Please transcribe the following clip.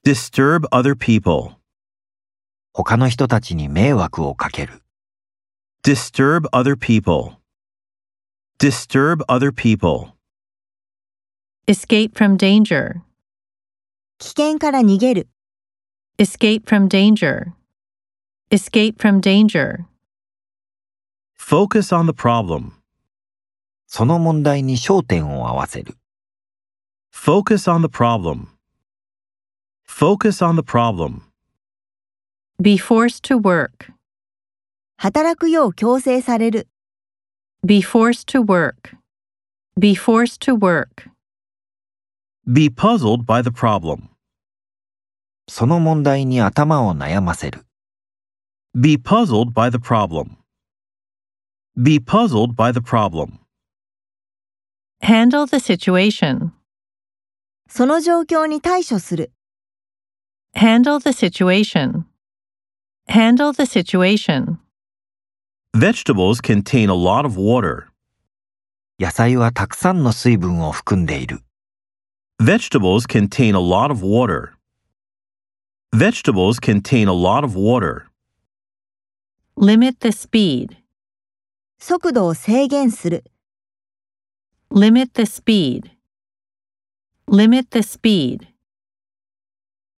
Disturb other people. 他の人たちに迷惑をかける。 Disturb other people. Disturb other people. Escape from danger. 危険から逃げる。 Escape from danger. Escape from danger. Focus on the problem. その問題に焦点を合わせる。 Focus on the problem. Focus on the problem. Be forced to work. 働くよう強制される。 Be forced to work. Be forced to work. Be puzzled by the problem. その問題に頭を悩ませる。 Be puzzled by the problem. Be puzzled by the problem. Handle the situation. その状況に対処する。 Handle the situation. Handle the situation. Vegetables contain a lot of water. 野菜はたくさんの水分を含んでいる。 Vegetables contain a lot of water. Vegetables contain a lot of water. Limit the speed. 速度を制限する。 Limit the speed. Limit the speed.